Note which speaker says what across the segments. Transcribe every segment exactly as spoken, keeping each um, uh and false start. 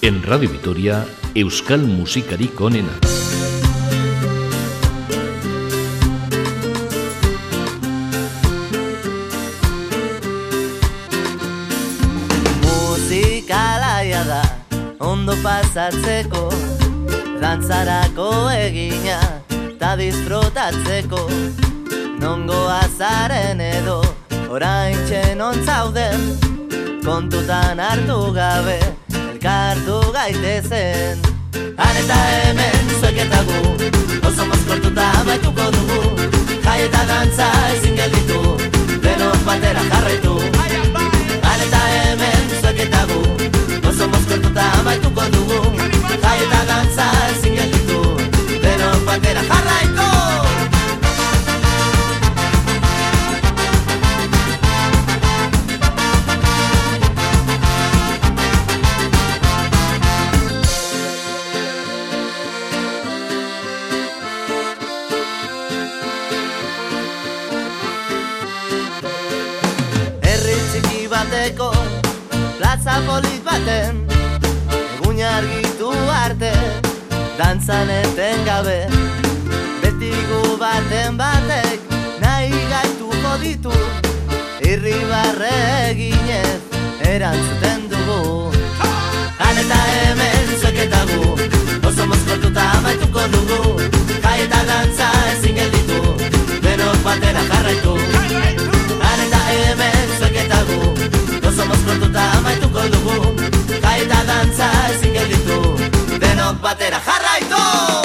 Speaker 1: En Radio Vitoria, Euskal Musikarik onena.
Speaker 2: Musikalaia da, ondo pasatzeko, dantzarako egina, ta disfrutatzeko. Nongo azaren edo, orain txenon zauden, kontutan hartu gabe, elkartu gaitezen. Han eta hemen zuek eta gu, oso mozkortuta amaituko dugu, jai eta dantza ezin gelditu, denok batera jarraitu. Han eta hemen zuek eta gu, oso mozkortuta amaituko dugu, jai eta dantza ezin gelditu, denok batera jarraitu. Plaza polit baten, egun argitu arte, dantzan eten gabe, beti gu baten batek, nahi gaituko ditu, irribarre eginez, erantzuten dugu. Han eta hemen zuek eta gu, oso mozkortuta amaituko dugu, jai eta dantza ezin gelditu, denok batera jarraitu. Han eta hemen zuek eta gu, oso mozkortuta amaituko dugu, jai eta dantza ezin gelditu, denok batera jarraitu!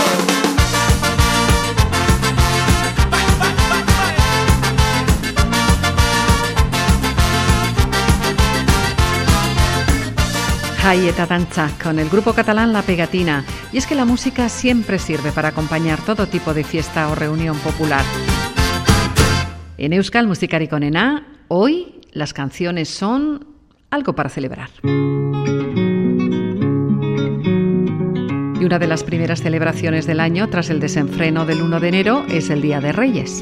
Speaker 3: Jai eta danza con el grupo catalán La Pegatina. Y es que la música siempre sirve para acompañar todo tipo de fiesta o reunión popular. En Euskal Musikarik onena, hoy las canciones son algo para celebrar. Y una de las primeras celebraciones del año, tras el desenfreno del uno de enero, es el Día de Reyes.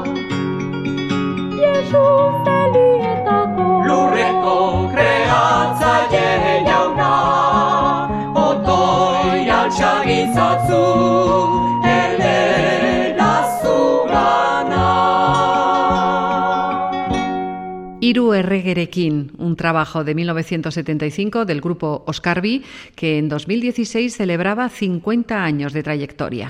Speaker 4: Lurreko kreazioa
Speaker 3: Hiru erregerekin, un trabajo de mil novecientos setenta y cinco del grupo Oskarbi, que en dos mil dieciséis celebraba cincuenta años de trayectoria.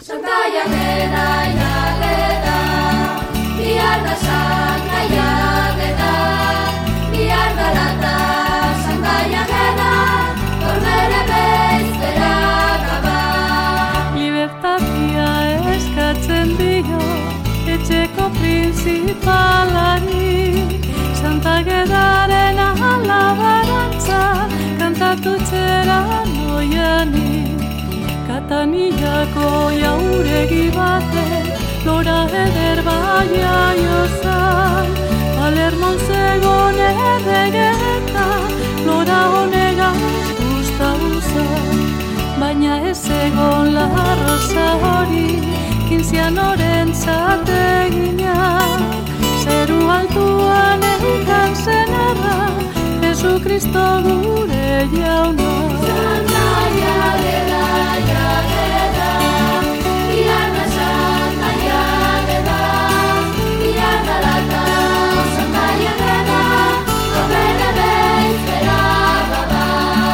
Speaker 4: Libertatia eskatzen dio etxeko principalari, Santa Gedaren alabarantza kantatu txera noiani. Katanillako jauregi bate lora eder baia jozan, Palermon zegon erregeta lora honegaz guztauzan. Baina ez egon la rosa hori, kinzianoren zateginak, zeru altuan eukan zenarra, Jesukristo gure jauna. Santa jageda, jageda, iarna santa jageda, iarna lata, santa jageda, gobene bezpera baba.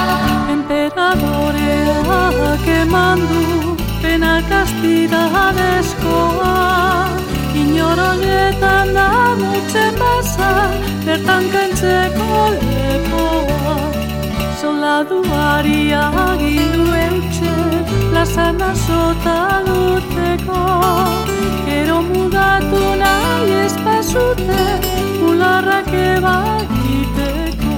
Speaker 4: Emperadore kemandu pena kastidadezkoa, inoroietan da mutzen basa, bertan kentzeko lepoa. Soldaduari agindu eutxe, plazana sota duteko, gero mudatu nahi espazute, bularrak ebagiteko.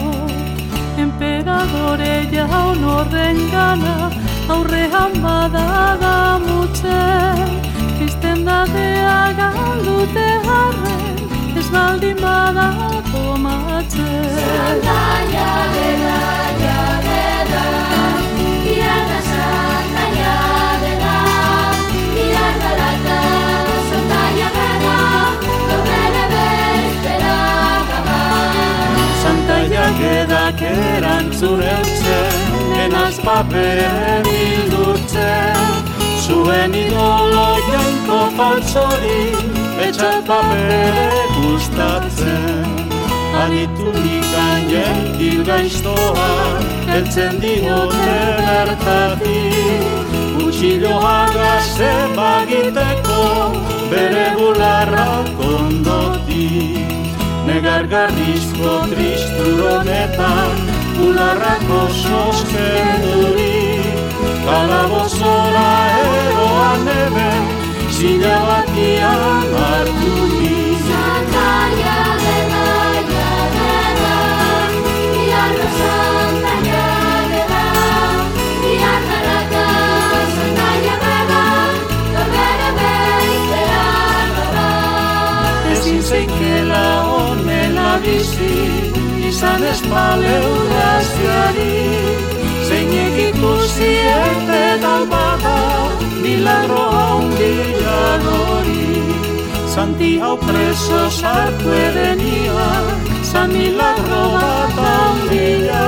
Speaker 4: Emperadore jaun horren gana, aurrean badada mutxe, kristendadea galdute harren, ez baldin bada tomatxe. Santa jageda, jageda, iarna santa jageda, iarna lata, santa jageda, gobene bezpera gaba. Santa jageda kerantzun eutzen, enaz paperen hildurtzen, zuen idolo jainko faltzori, etxat papere gustatzen. Anitunikan jentil gaiztoa, eltzen diote bertatik, utxiloa gaze bagiteko, bere bularrak ondotik. Negargarrizko tristuronetan, bularrak oso skendurik, kalabozora eroan eben, zila batian harturik. Santa jageda, jageda, iarna santa jageda, iarna lata, santa jageda, gobene bezpera gaba. Ezin zeikela honela bizi, izan espaleu graziari, zeinek ikusi ete dalbada, milagro handia dori. Santi hau preso sartu edenia, san milagro bat handia,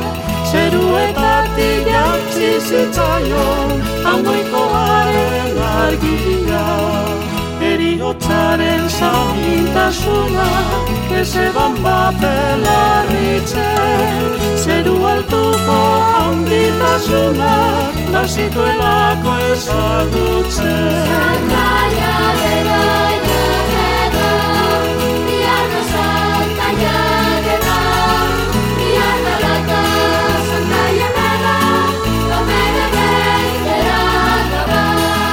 Speaker 4: zeruetatik jantzi zitzaion, hangoikoaren argia. Eriotzaren zamintasuna, ezeban bapelarritzen, zeru altuko handitasuna, bazituelako ezagutzen. Santa jageda, jageda, iarna santa jageda, iarna lata, santa jageda, gobene bezpera gaba.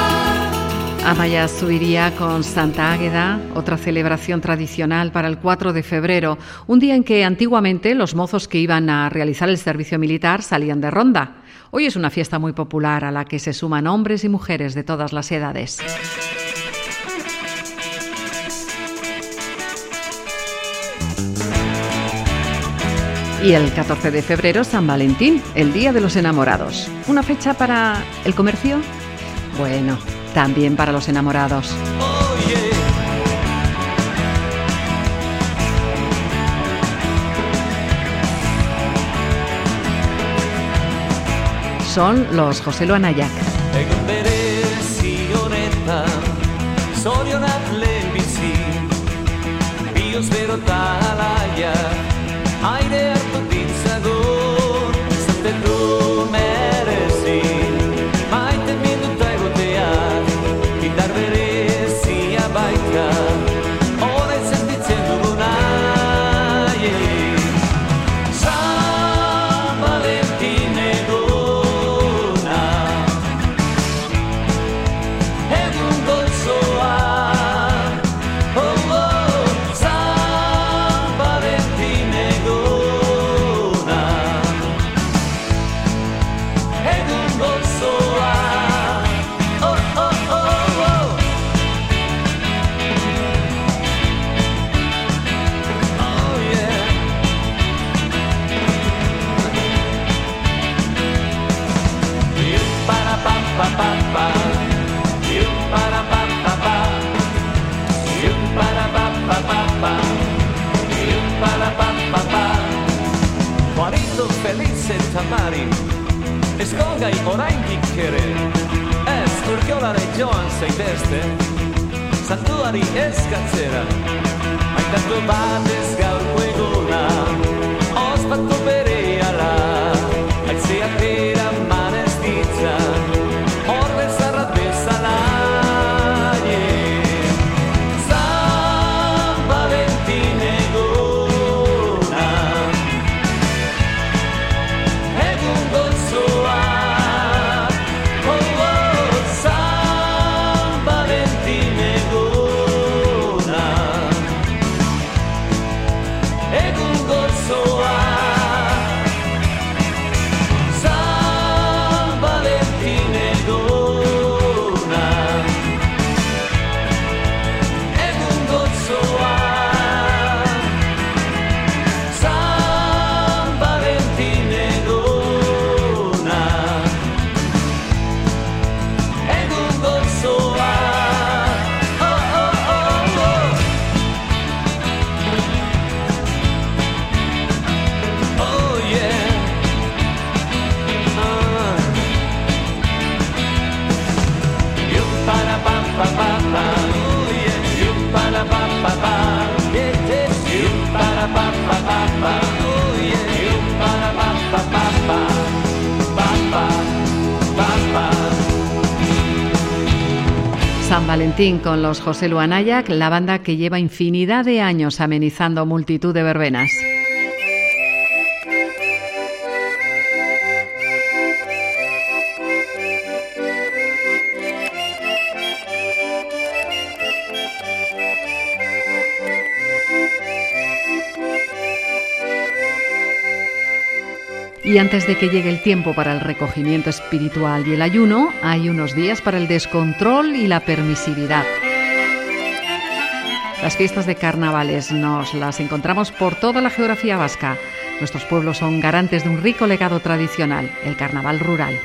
Speaker 3: Amaya Zubiría con Santa Águeda, otra celebración tradicional para el cuatro de febrero, un día en que antiguamente los mozos que iban a realizar el servicio militar salían de ronda. Hoy es una fiesta muy popular a la que se suman hombres y mujeres de todas las edades. Y el catorce de febrero, San Valentín, el Día de los Enamorados. ¿Una fecha para el comercio? Bueno, también para los enamorados. Son los José Lo Anayak.
Speaker 5: Ikus berota alaia aire hartu ditzagun Zatetu merezi maite minuta egoteak Indar berezia baita Horain sentitzen duguna San Valentin eguna Egun gozoa Felice tamari Eskolgai oraindik ere Ez urkiolare joan zaitezte Santuari eskatzera Aitatu batez gaurko eguna Ospatu berehala Aitzea tera manez ditza Hor bezarrat bezala San Valentin eguna Egun gozoa Oh, oh, San Valentin eguna Egun gozoa San Valentin eguna Egun gozoa San Valentin eguna Egun gozoa Oh, oh, oh, oh Oh, yeah Ah. Yum para pam pam pam pam Oh, yeah Yum para pam pam pam Yeah, yeah Yum para pam pam pam pam Oh, yeah Yum para pam pam pam pam Pam pam pam pam
Speaker 3: San Valentín con los José Lu Anayac, la banda que lleva infinidad de años amenizando multitud de verbenas. Y antes de que llegue el tiempo para el recogimiento espiritual y el ayuno, hay unos días para el descontrol y la permisividad. Las fiestas de carnavales nos las encontramos por toda la geografía vasca. Nuestros pueblos son garantes de un rico legado tradicional, el carnaval rural.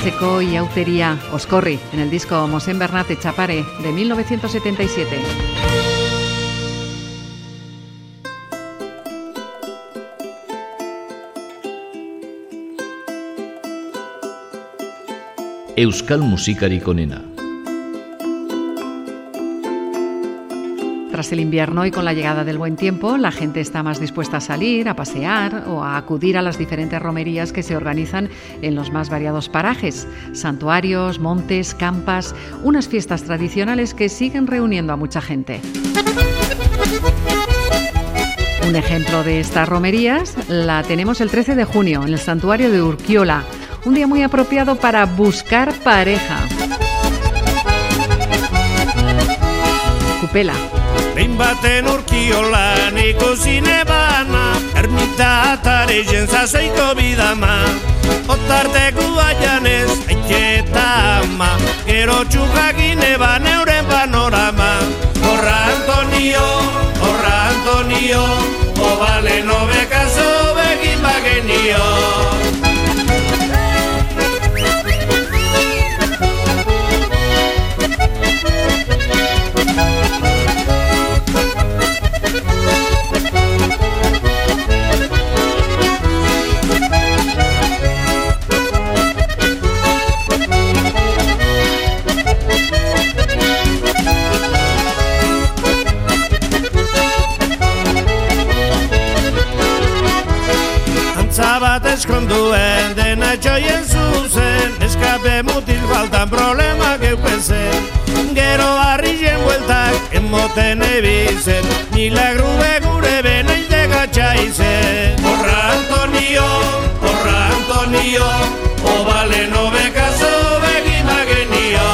Speaker 3: Pacheco y Autería, Oscorri, en el disco Mosén Bernat Etxapare de mil novecientos setenta y siete.
Speaker 1: Euskal musikarik onena.
Speaker 3: Tras el invierno y con la llegada del buen tiempo, la gente está más dispuesta a salir, a pasear o a acudir a las diferentes romerías que se organizan en los más variados parajes, santuarios, montes, campas, unas fiestas tradicionales que siguen reuniendo a mucha gente. Un ejemplo de estas romerías la tenemos el trece de junio en el santuario de Urkiola, un día muy apropiado para buscar pareja. Kupela.
Speaker 6: Behin baten Urkiolan ikusi nebana, ermitatare jentzazoiko bidama, otarteko baianez aiketa ama, gero txukak ineban euren panorama. Horra Antonio, horra Antonio, obale nobekazo begin bagenio. Eskonduen dena txoien zuzen, eskape mutil faltan problema geupezen. Gero harrien bueltak emoten ebizen, milagru begure beneite gatxaizen. Horra Antonio, horra Antonio, obale nobekazo begin bagenio.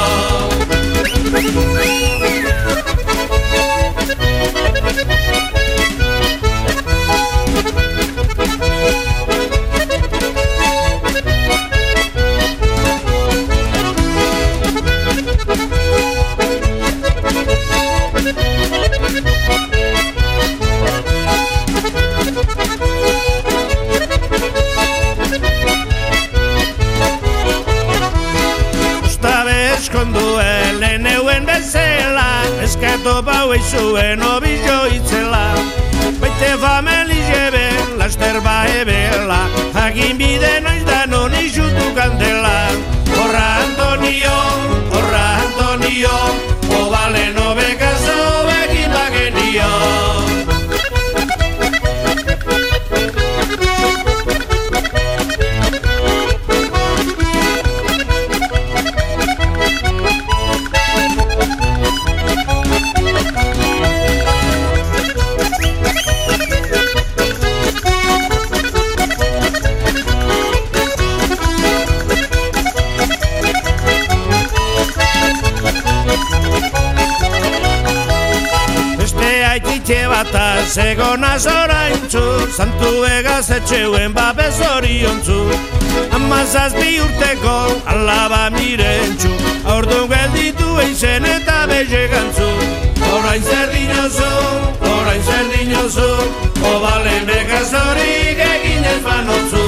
Speaker 6: Eskonduen leheneuen bezala, eskatu bau izuen obillo itzela. Baite fameli jeben, laster bae bela, hagin bide noiz da non izutu kandela. Horra Antonio, horra Antonio, obale nobekazo begin bagenio. Segonaz oraintzu, santu egaz etxeuen babez oriontzu. Amazazpi urteko alaba mirentxu, aurdun gelditu eizen eta belegantzu. Orain zer dinozu, orain zer dinozu, obalen bekazorik egin ez banotzu.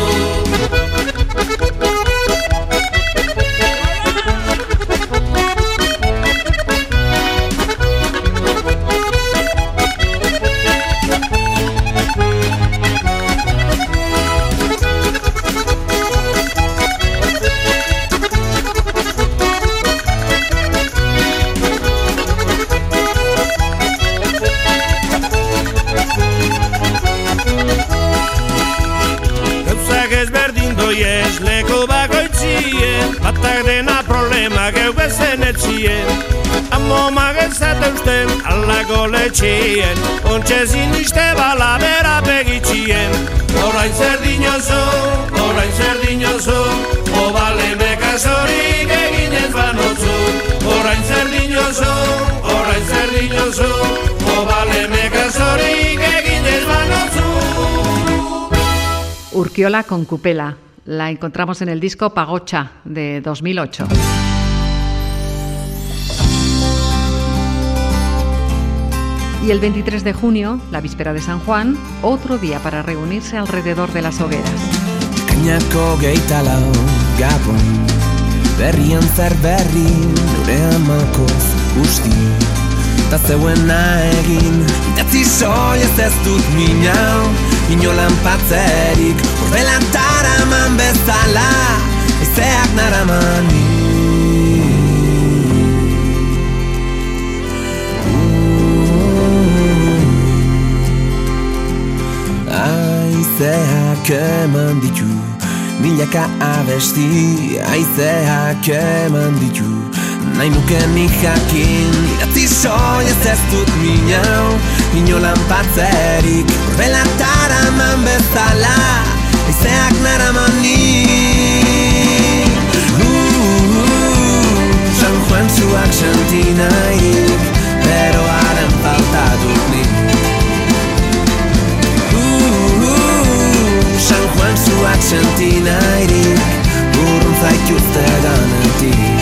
Speaker 6: Batak dena problema geu bezen etxien, amo magezateusten alako letxien, ontxezin iste bala bera begitxien. Orain zer dinozu, orain zer dinozu, obale bekazorik egin ez banotzu. Orain zer dinozu, orain zer dinozu, obale bekazorik egin ez banotzu.
Speaker 3: Urkiola con Kupela. La encontramos en el disco Pagocha de dos mil ocho. Y el veintitrés de junio, la víspera de San Juan, otro día para reunirse alrededor de las hogueras.
Speaker 7: Kainako geita lau gabon, berrian zer berri, nure amalkoz usti. Ta zeuena egin, idatzi soilez ez dut minau, inolan patzerik, horrelan taraman bezala, ezeak naramani. Aizeak eman ditu, milaka abesti, aizeak eman ditu, nahi nuke nik jakin, idatzi soilez ez dut minau, inolan patzerik, horrela taraman bezala, aizeak naramani. San Juan zuak senti nahirik, beroaren falta dut nik. San Juan zuak senti nahirik, urrun zaituzte ganetik.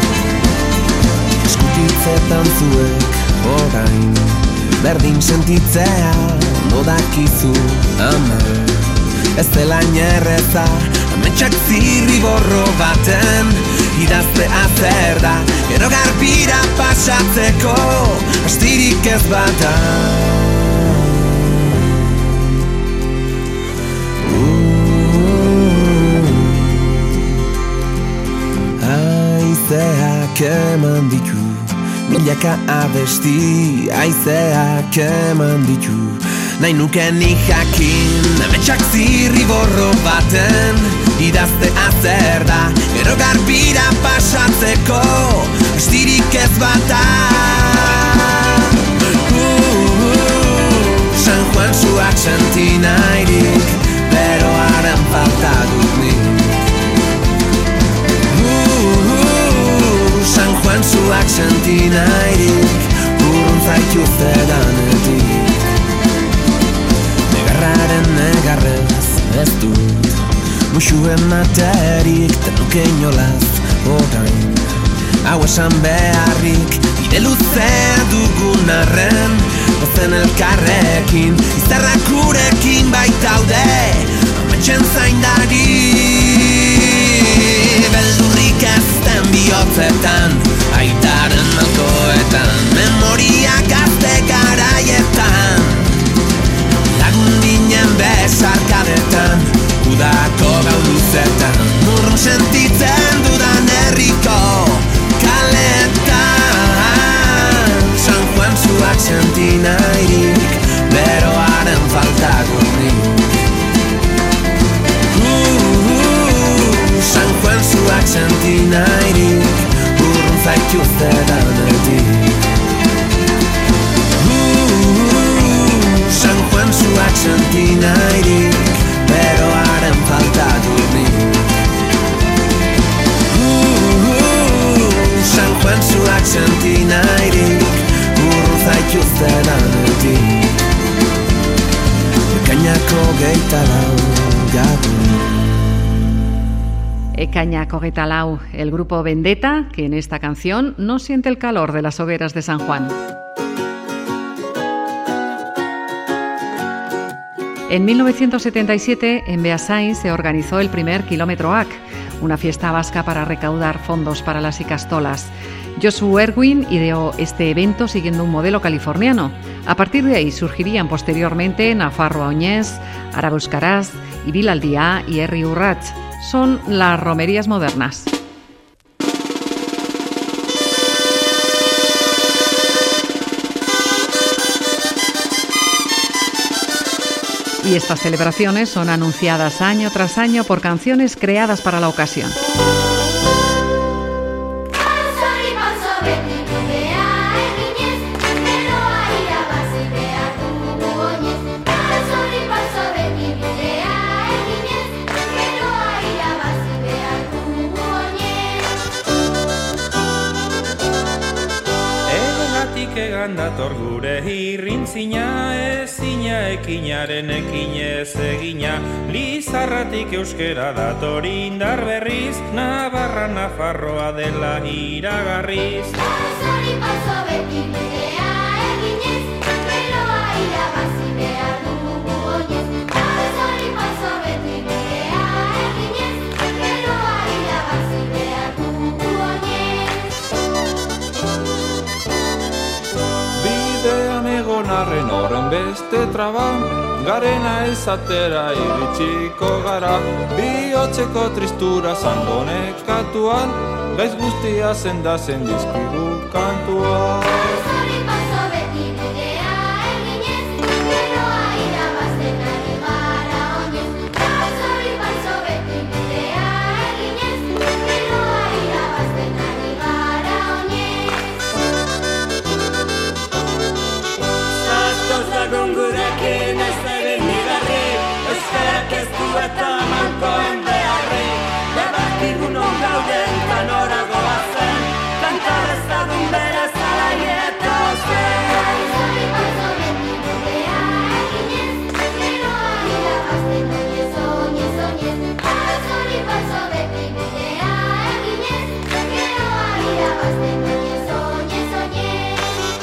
Speaker 7: Eskutitzetan zuek orain, berdin sentitzea modakizu ama. Ez dela inerreza, ametsak zirriborro baten, idaztea zer da, gero garbira pasatzeko, astirik ez bata. Aizeak eman ditu, milaka abesti, aizeak eman ditu, nahi nuke nik jakin, ametsak zirriborro baten, idaztea zer da, gero garbira pasatzeko, astirik ez bata. uh, uh, San Juan zuak senti nahirik, beroaren falta dut nik. San Juan zuak senti nahirik, urrun zaituzte danetik. Negarraren negarrez ez dut, muxuen materik, tenuke inolaz orain. Hau esan beharrik, bide luzea dugun arren, ozen elkarrekin, izarrak gurekin baitaude, ametxen zaindari. Beldurrik ezten bihotzetan, aitaren malkoetan, memoria gazte garaietan, lagun ginen besarkadetan, udako gau luzetan, urrun sentitzen dudan herriko kaletan. San Juan zuak senti nahirik, beroaren falta dut nik. San Juan zuak senti nahirik, urrun zaituzte danetik. San Juan zuak senti nahirik, beroaren falta dut nik. San Juan zuak senti nahirik, urrun zaituzte danetik. Ekainako geita lau gabon.
Speaker 3: Ekañak hogeita lau, el grupo Vendetta, que en esta canción no siente el calor de las hogueras de San Juan. En mil novecientos setenta y siete, en Beasain, se organizó el primer Kilómetro A C, una fiesta vasca para recaudar fondos para las ikastolas. Josu Erwin ideó este evento siguiendo un modelo californiano. A partir de ahí surgirían posteriormente Nafarroa Oñez, Araba Euskaraz, Ibilaldia y Herri Urrats. Son las romerías modernas. Y estas celebraciones son anunciadas año tras año por canciones creadas para la ocasión.
Speaker 8: Dator gure irrintzina, ezina ekinaren ekinez egina. Lizarratik euskera dator indar berriz, Navarra Nafarroa dela iragarriz.
Speaker 9: Pausori pauso beti bidea eginez, beroa irabazi behar dugu oinez. Pausori pauso beti bidea eginez, beroa irabazi behar dugu.
Speaker 8: egon arren horren beste traban, garena ezatera iritsiko gara, bihotzeko tristura zango nekatuan, gaiz guztia zendazen dizkigu kantua.
Speaker 9: Zori paso beti bidea eginez, geroa irabazten ari gara oinez. Zori paso beti bidea eginez, geroa irabazten ari gara oinez.
Speaker 4: Zatoz lagun gurekin ez egin nigarri, euskarak ez du eta mankoen beharri. Bebakigu non gauden eta nora goazen, kanta dezagun berez alaieta zen.
Speaker 9: Zori paso beti bidea eginez, geroa irabazten oinez, oinez, oinez. Zori paso beti bidea eginez, geroa irabazten oinez, oinez, oinez.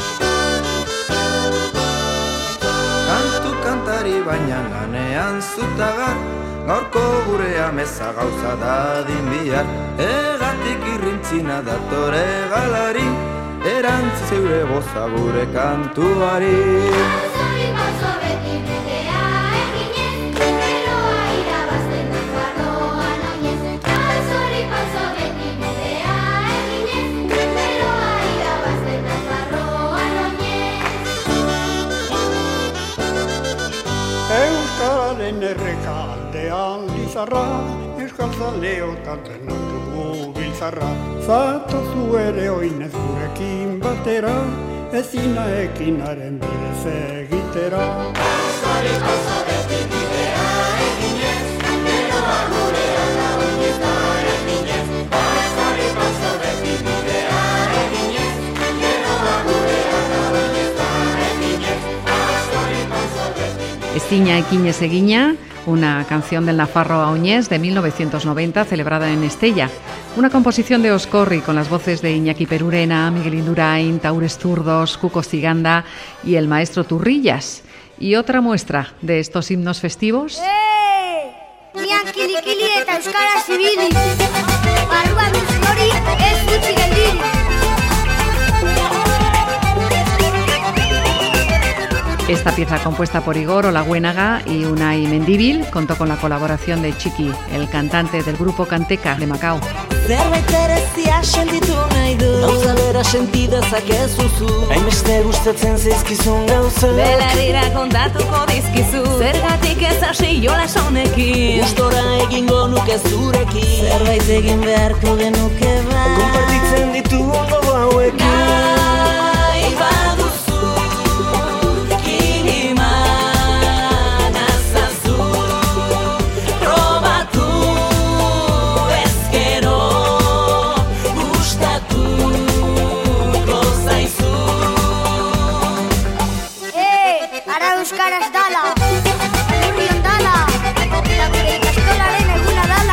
Speaker 10: Kantu kantari baina lanean zutagar, gaurko gure ameza gauza dadin bihar. Egatik irrintzina datore galari, erantzi zeure boza gure kantuari.
Speaker 9: Zori paso beti bidea eginez, geroa irabazten Nafarroan oinez. Zori paso beti bidea eginez, geroa irabazten Nafarroan oinez.
Speaker 11: Euskararen errekaldean lizarra, euskal zaleotatzen dugu biltzarra. Zatozu ere oinez gurekin batera, ezina ekinaren bidez egitera.
Speaker 4: Zori paso beti bidea eginez, geroa gurea da oinez da eginez. Zori paso beti bidea eginez, geroa gurea da oinez da eginez. Zori paso beti.
Speaker 3: Ezina ekinez egina, una canción del Nafarro a Oñez de mil novecientos noventa celebrada en Estella. Una composición de Oscorri con las voces de Iñaki Perurena, Miguel Indurain, Taures Zurdos, Cuco Ciganda y el maestro Turrillas. Y otra muestra de estos himnos festivos.
Speaker 9: Hey! Nian kili-kili eta euskara zibili. Barruan duz hori ez dutzi geldirik.
Speaker 3: Esta pieza compuesta por Igor Olaguenaga y Unai Mendíbil contó con la colaboración de Chiqui, el cantante del grupo Canteca de Macao.
Speaker 12: Zerbait berezia sentitu nahi du, gauza bera sentidezakezuzu, hainbeste gustatzen zaizkizun gauzak, belarrira kontatuko dizkizu, zergatik ez hasi jolas honekin, gustora egingo nuke zurekin, zerbait egin beharko genuke ba, konpartitzen ditugun gogo hauekin. Nahi baduzu, kinima nazazu, probatu ezkero, gustatuko zaizu.
Speaker 9: Hey! Ara euskaraz dala, alurrion dala, eta gure ikastolaren eguna dala.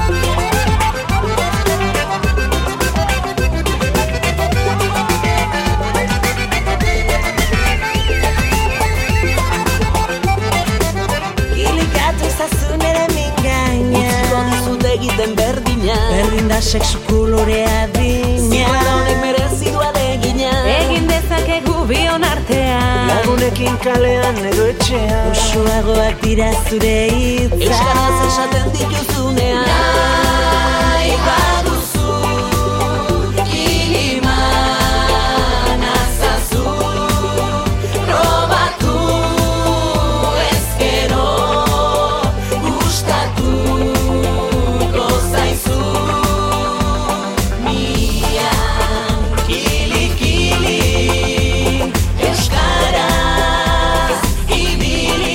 Speaker 12: Kilikatu ezazun ere mingaina, utziko dizut egiten berdina, berdin da sexu kolorea dina, zibara honek merezi du alegina, egin dezakegu bion artean, lagunekin kalean edo etxean, usuagoak dira zure hitza, euskaraz esaten dituzunean. Nahi baduzu, kilima nazazu, probatu ezkero, gustatuko zaizu. Mian kili-kili, euskaraz ibili,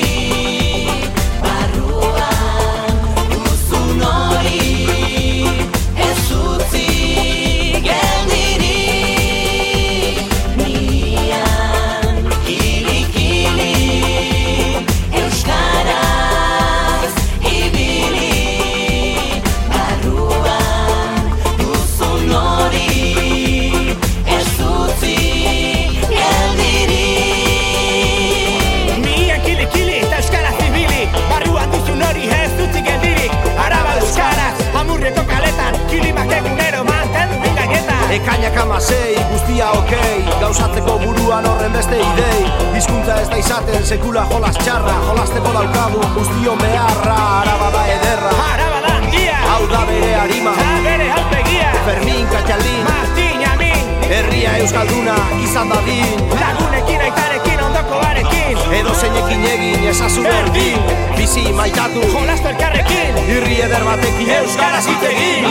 Speaker 12: barruan duzun hori ez utzi geldirik. Mian kili-kili, euskaraz ibili, barruan duzun hori ez utzi geldirik.
Speaker 13: Nian kili-kili eta euskaraz ibili, barruan duzun hori ez dutzi geldirik. Araba euskaraz, amurrieko kaletan, kilimak egunero mantendu gaietan.
Speaker 10: Ekainak amasei, guztia okei, gauzatzeko buruan horren beste idei.
Speaker 14: Hizkuntza ez da izaten sekula jolas txarra, jolasteko daukagu guztion beharra. Araba da ederra,
Speaker 13: Araba da handia,
Speaker 14: hau da bere harima,
Speaker 13: da bere alpegia.
Speaker 14: Fermin, Katxaldin,
Speaker 13: Martin, Amin,
Speaker 14: herria euskalduna izan dadin.
Speaker 13: lagunekin, aitarekin, ondoko barekin,
Speaker 14: Edo zeinekin egin ezazu berdin, bizi maitatu,
Speaker 13: jolastu elkarrekin,
Speaker 14: irri eder batekin euskaraz hitz egin.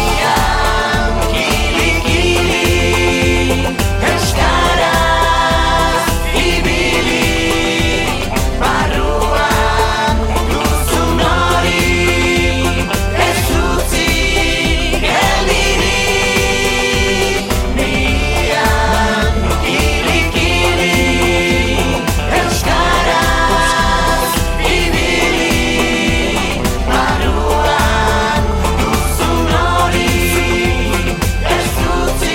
Speaker 4: Euskaraz ibili, barruan duzun hori, ez utzi geldirik. Nian kili-kili, euskaraz ibili, barruan duzun hori, ez utzi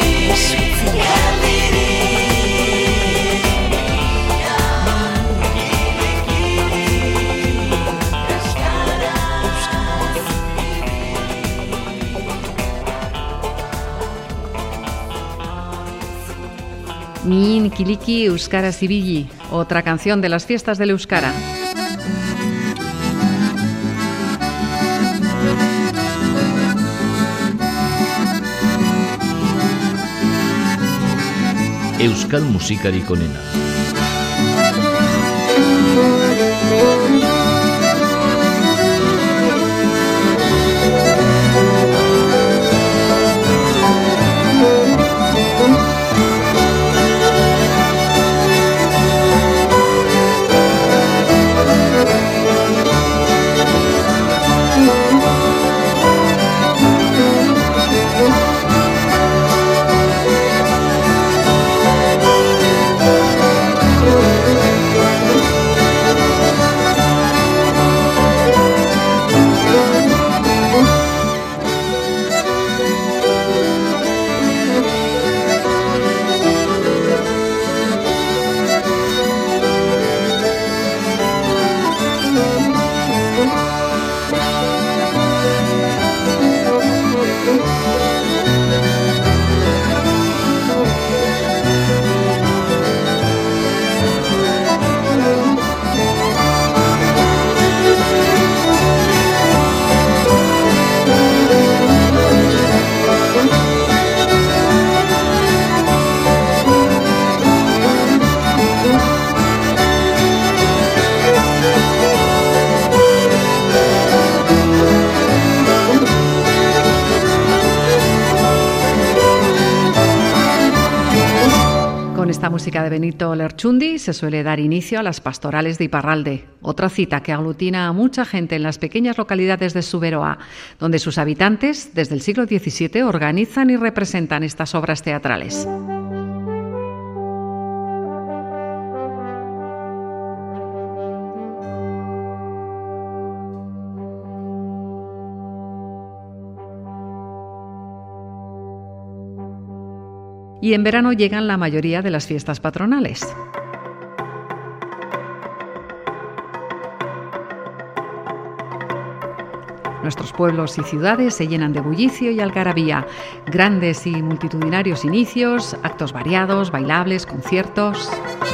Speaker 3: Min Kiliki Euskaraz ibili, otra canción de las fiestas del Euskara.
Speaker 1: Euskal musikarik onena.
Speaker 3: Música de Benito Lerchundi se suele dar inicio a las pastorales de Iparralde, otra cita que aglutina a mucha gente en las pequeñas localidades de Zuberoa, donde sus habitantes, desde el siglo diecisiete, organizan y representan estas obras teatrales. Y en verano llegan la mayoría de las fiestas patronales. Nuestros pueblos y ciudades se llenan de bullicio y algarabía, grandes y multitudinarios inicios, actos variados, bailables, conciertos.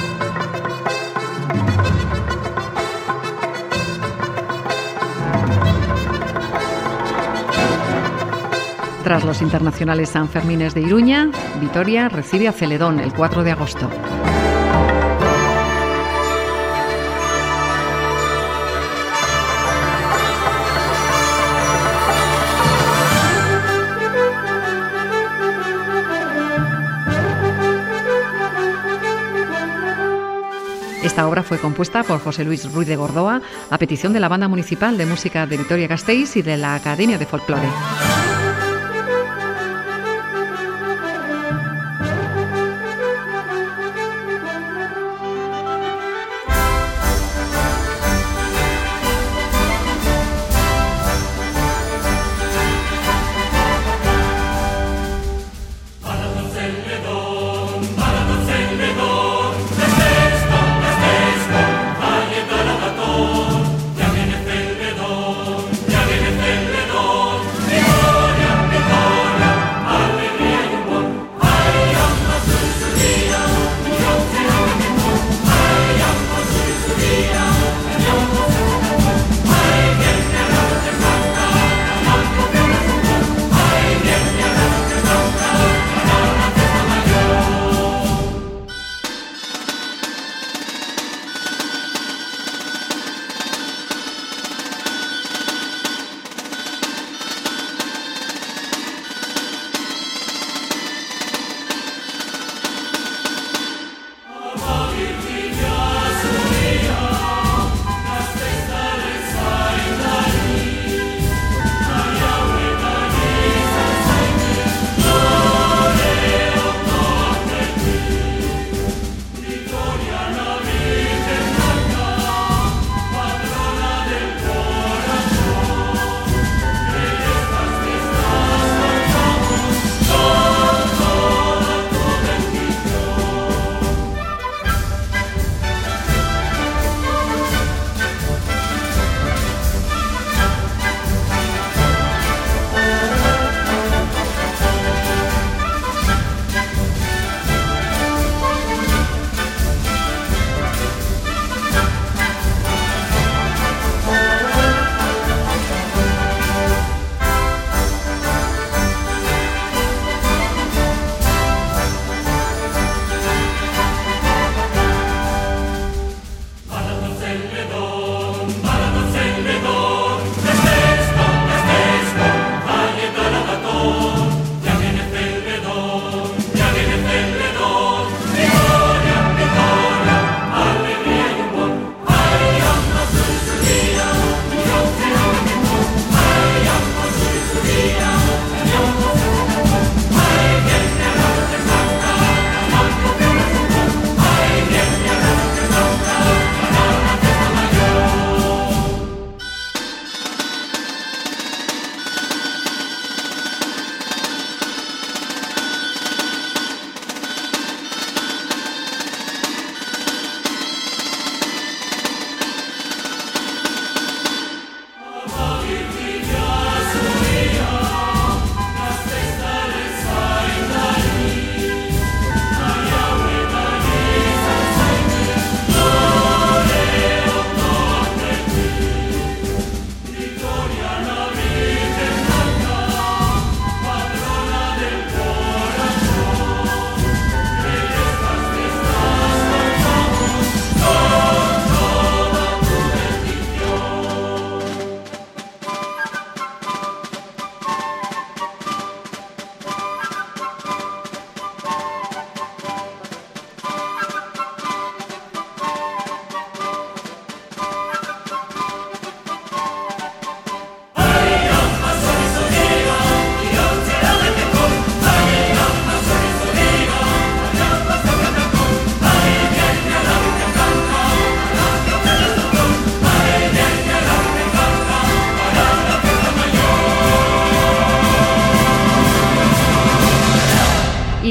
Speaker 3: Tras los internacionales Sanfermines de Iruña, Vitoria recibe a Celedón el cuatro de agosto. Esta obra fue compuesta por José Luis Ruiz de Gordoa a petición de la Banda Municipal de Música de Vitoria-Gasteiz y de la Academia de Folclore.
Speaker 4: Celedón,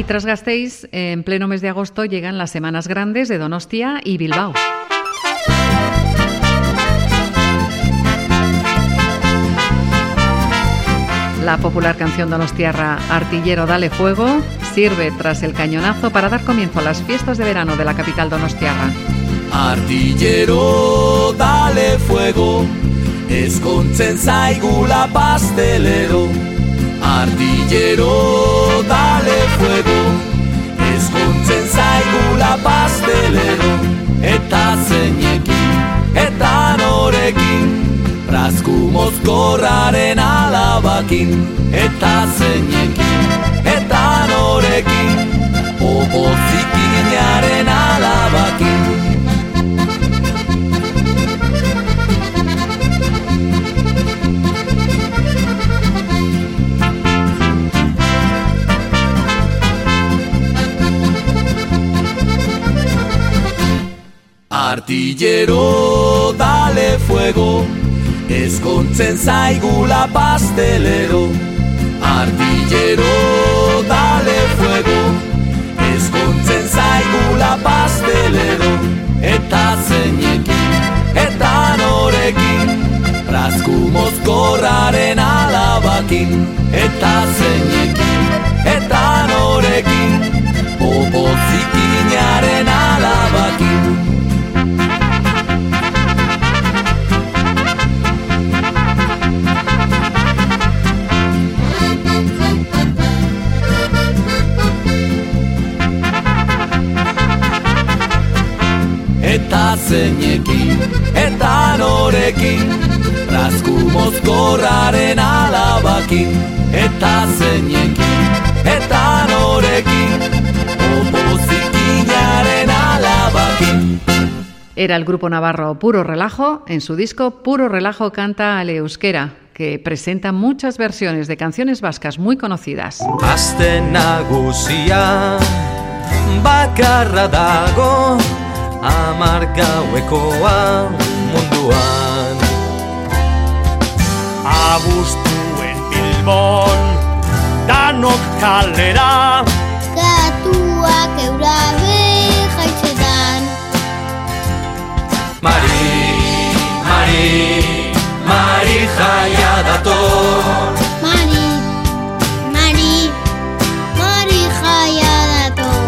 Speaker 3: Y tras Gasteiz, en pleno mes de agosto llegan las Semanas Grandes de Donostia y Bilbao. La popular canción donostiarra Artillero Dale Fuego sirve tras el cañonazo para dar comienzo a las fiestas de verano de la capital donostiarra.
Speaker 7: Artillero dale fuego, eskontzen zaigula pastelero. Artillero dale fuego, eskontzen zaigula pastelero. Eta zeinekin, eta norekin, Brazku mozkorraren alabakin. Eta zeinekin, eta norekin, opozikinaren alabakin. Artillero dale fuego, eskontzen zaigula pastelero. Artillero dale fuego, eskontzen zaigula pastelero. Eta zeinekin, eta norekin, Brazku mozkorraren alabakin. Eta zeinekin, eta norekin, opozikinaren alabakin. Eta zeinekin, eta norekin, Brazku mozkorraren alabakin. Eta zeinekin, eta norekin, opozikinaren alabakin.
Speaker 3: Era el grupo navarro Puro Relajo. En su disco Puro Relajo canta al euskera, que presenta muchas versiones de canciones vascas muy conocidas.
Speaker 10: Aste nagusia bakarra dago, hamar gauekoa munduan.
Speaker 6: Abuztuen Bilbon, danok kalera,
Speaker 9: Katuak eurabe jaitzetan.
Speaker 10: Mari, Mari, Mari jaia dator.
Speaker 9: Mari, Mari, Mari jaia dator.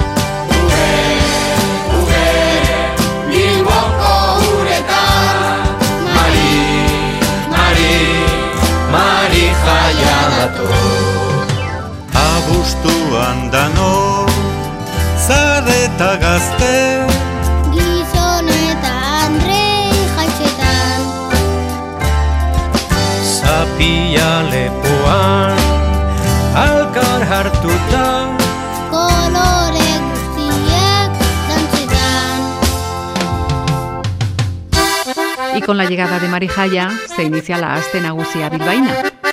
Speaker 10: Mari jaia dator.
Speaker 15: Abuztuan dano, zareta gazte,
Speaker 9: Gizon eta Andre jaitzetan.
Speaker 10: Zapia lepoan, alkar hartuta,
Speaker 9: Kolore guztiak dantzetan.
Speaker 3: Y con la llegada de Mari Jaia se inicia la Aste Nagusia bilbaína.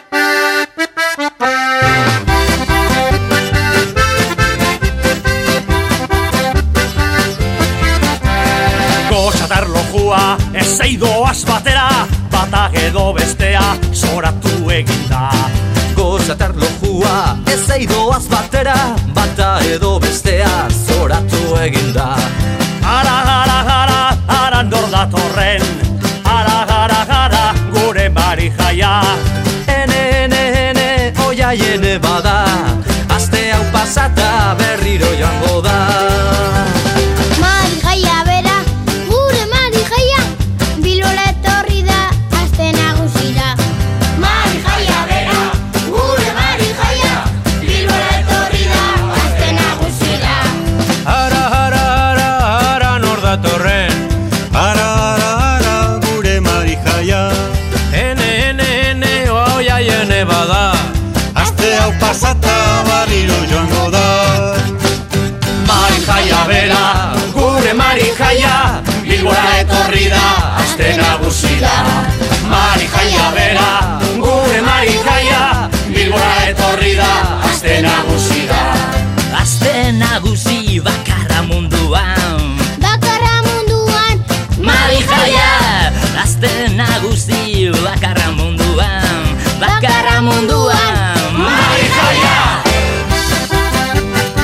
Speaker 6: gozatar lojua, ez eidoaz batera, bata edo bestea, zoratu eginda.
Speaker 7: Gozatar lojua, ez eidoaz batera, bata edo bestea, zoratu eginda.
Speaker 6: Ara, ara, ara, ara nor datorren, ara, ara, ara, gure Mari Jaia.
Speaker 7: Ene, ene, ene, oia jene bada, aste hau pasata berriro joango da.
Speaker 9: Mari Jaia bera, gure Mari Jaia, Bilbora etorri da aste nagusira. Mari Jaia bera, gure Mari Jaia, Bilbora etorri da aste nagusira.
Speaker 15: Ara, ara, ara, ara nor datorren, ara, ara, ara, gure Mari Jaia.
Speaker 10: Ene, ene, ene, oia jene bada,
Speaker 15: aste hau pasata barriro joango da.
Speaker 6: Mari Jaia bera, gure Mari Jaia, Bilbora etorri da aste nagusira. Mari Jaia bera, gure Mari Jaia, Bilbora etorri da aste nagusira.
Speaker 16: Aste nagusi bakarra munduan,
Speaker 9: Bakarra munduan,
Speaker 16: Mari Jaia. Aste nagusi bakarra munduan, bakarra munduan, Mari Jaia.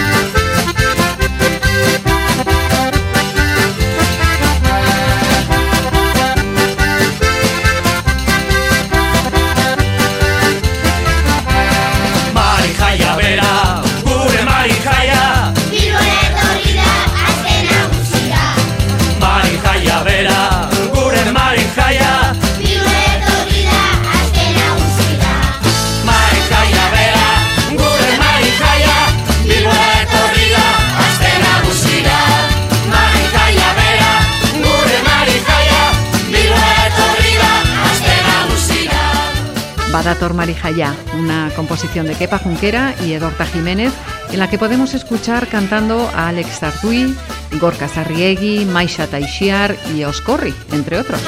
Speaker 3: Badator Marijaya, una composición de Kepa Junquera y Edorta Jiménez, en la que podemos escuchar cantando a Alex Artuy, Gorka Sarriegi, Maisha Taixiar y Oscorri, entre otros.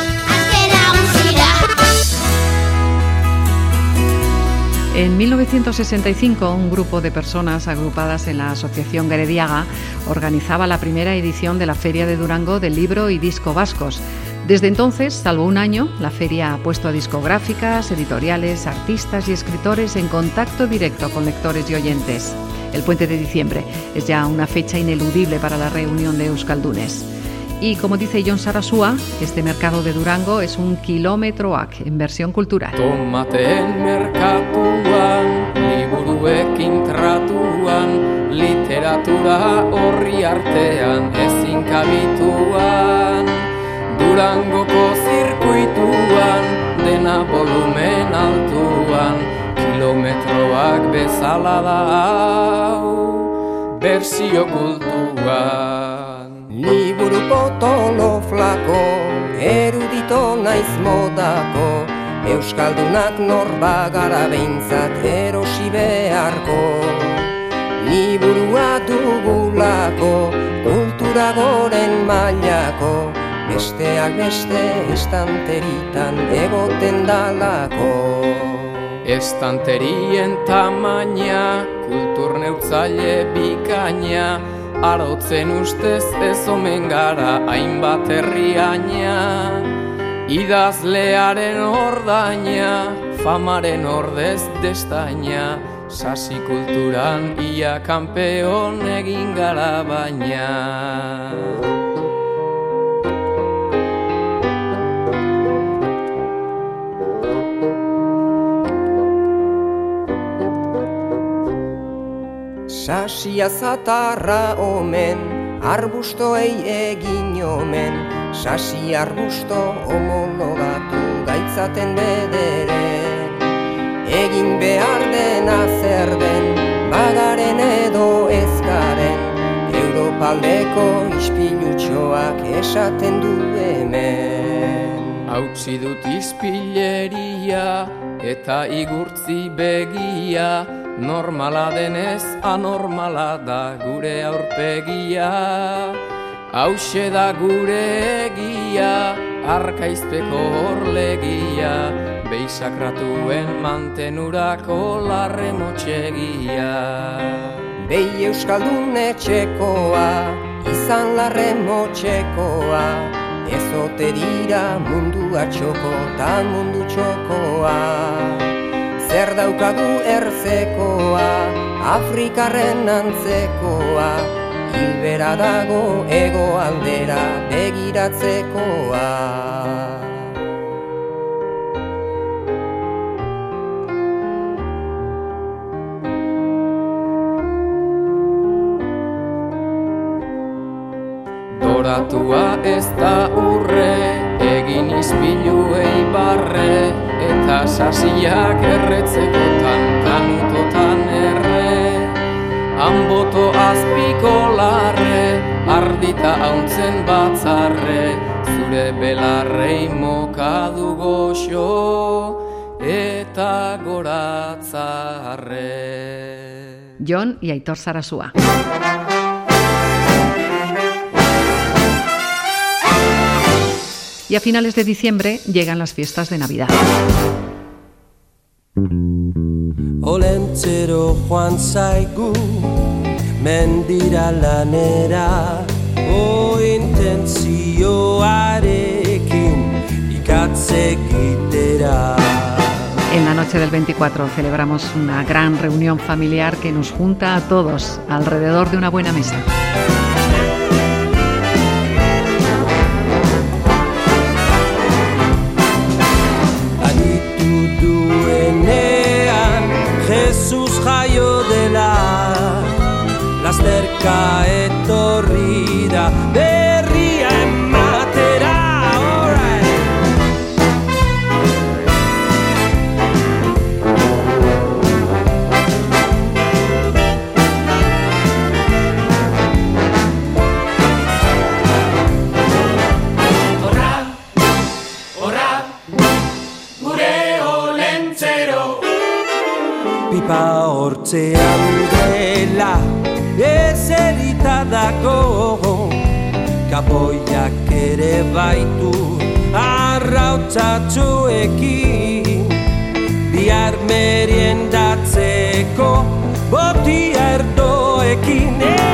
Speaker 3: En mil novecientos sesenta y cinco, un grupo de personas agrupadas en la Asociación Gerediaga organizaba la primera edición de la Feria de Durango del Libro y Disco Vascos. Desde entonces, salvo un año, la feria ha puesto a discográficas, editoriales, artistas y escritores en contacto directo con lectores y oyentes. El Puente de Diciembre es ya una fecha ineludible para la reunión de euskaldunes. Y como dice Jon Sarasua, este mercado de Durango es un kilómetroak en versión cultural.
Speaker 8: Tomateen merkatuan, liburuekin tratuan, literatura horri artean ezin kabituan. Durangoko zirkuituan, dena volumen altuan, kilometroak bezala da hau, bersio kultuan.
Speaker 17: Liburu potolo flako, erudito naiz modako, euskaldunak norba gara behintzat erosi beharko. Liburua dugulako, kultura goren mailako, besteak beste estanteritan egoten dalako.
Speaker 8: Estanterien tamaina, kultur neurtzaile bikaina, arotzen ustez ez omen gara hainbat herriaina. Idazlearen ordaina, famaren ordez destaina, sasi kulturan ia kanpeon egin gara baina.
Speaker 17: Sasia zatarra omen, arbustoei egin omen, sasi arbusto homologatu gaitzaten bederen. Egin behar dena zer den, bagaren edo ezkaren, Europaldeko ispilutxoak esaten du hemen.
Speaker 8: Hautsi dut ispileria eta igurtzi begia, normala denez anormala da gure aurpegia. Hauxe da gure egia, arkaizpeko horlegia, beisakratuen mantenurako larre motxegia.
Speaker 17: Behi euskaldun etxekoa, izan larre motxekoa, ezote dira mundua txoko ta mundu txokoa. Zer daukagu ertzekoa, Afrikarren antzekoa, hilbera dago ego aldera begiratzekoa.
Speaker 8: Doratua ez da urre, egin izpiluei barre, eta sasiak erretzekotan, kanutotan erre. Hanboto azpiko larre, ardita hauntzen batzarre, zure belarrei mokadu goxo, eta goratzarre.
Speaker 3: Jon y Aitor Sarasua. Y a finales de diciembre llegan las fiestas de Navidad.
Speaker 7: Olentzero joan zaigu, mendira lanera, o intentzioarekin ikatze egitera.
Speaker 3: En la noche del veinticuatro celebramos una gran reunión familiar que nos junta a todos alrededor de una buena mesa.
Speaker 7: Jesus jaio dela, lasterka etorri da berria ematera. hortzean dela ezerita dago, kapoiak ere baitu arrautzatxoekin, bihar meriendatzeko botia erdoekin.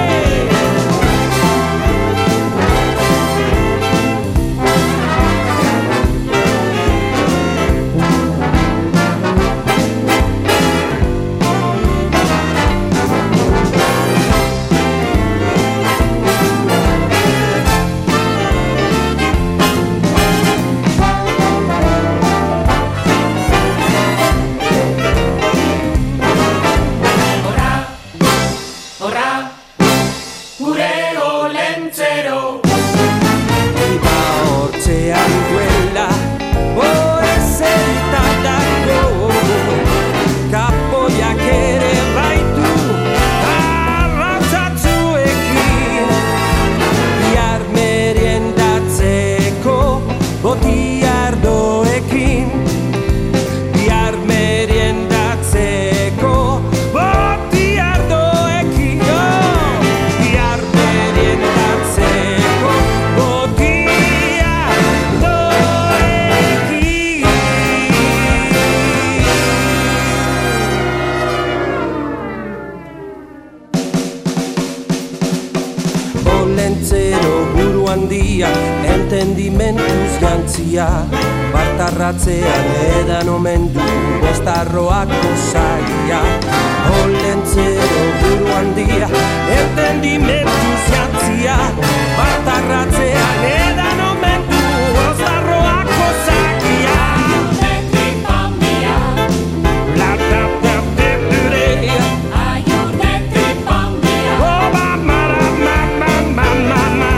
Speaker 7: Entendimentuz jantzia, bartarratzean edan omendu bostarroako saia. Olentzero buru handia, entendimentuz jantzia, bartarratzean edan omendu bostarroako saia. Netripambia, la tap tap tepurea, aiute tripambia, oh mama mama mama mama.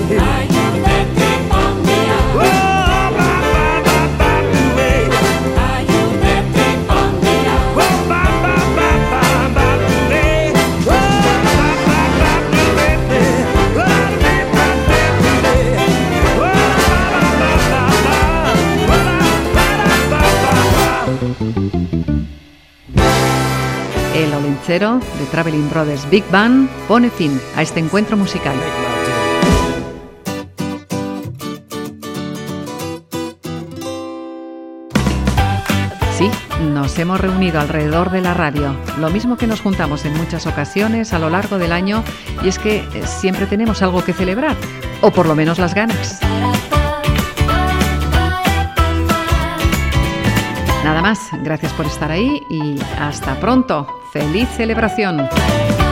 Speaker 3: El Olentzero de Traveling Brothers Big Band pone fin a este encuentro musical. Sí, nos hemos reunido alrededor de la radio, lo mismo que nos juntamos en muchas ocasiones a lo largo del año, y es que siempre tenemos algo que celebrar, o por lo menos las ganas. Nada más, gracias por estar ahí y hasta pronto. ¡Feliz celebración!